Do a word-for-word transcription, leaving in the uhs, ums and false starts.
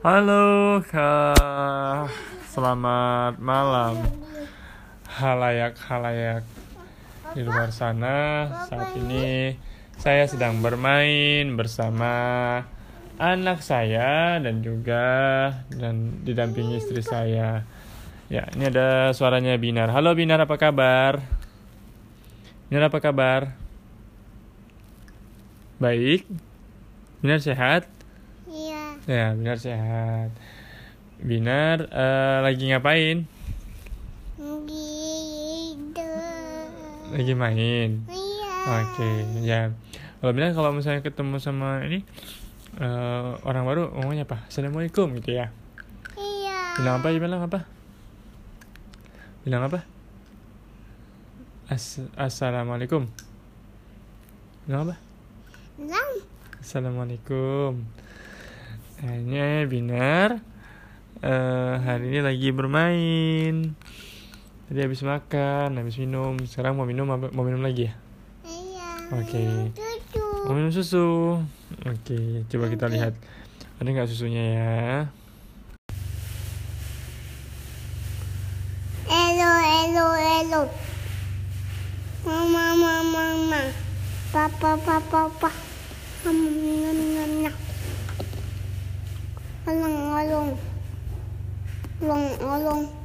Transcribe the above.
Halo Kak, selamat malam halayak-halayak di luar sana. Saat ini saya sedang bermain bersama anak saya dan juga dan didampingi istri saya. Ya, ini ada suaranya Binar. Halo Binar, apa kabar? Binar, apa kabar? Baik. Binar sehat? Iya. Ya, Binar sehat. Binar uh, lagi ngapain? Gitu. Lagi main. Iya. Oke, ya. Kalau Binar kalau misalnya ketemu sama ini uh, orang baru ngomongnya apa? Assalamualaikum gitu ya. Iya. Bilang apa? Bilang apa? Bilang apa? As- Assalamualaikum. Bilang apa? Bilang. Assalamualaikum. Hanya Binar uh, hari ini lagi bermain. Tadi habis makan, habis minum. Sekarang mau minum mau minum lagi ya? Iya. Oke. Susu. Mau minum susu. Oke, coba kita lihat. Ada nggak susunya ya? Elo, elo, elo. Mama, mama, mama. Papa, papa, papa. Mama, nyam, nyam, nyam. Olong, olong. Olong, olong.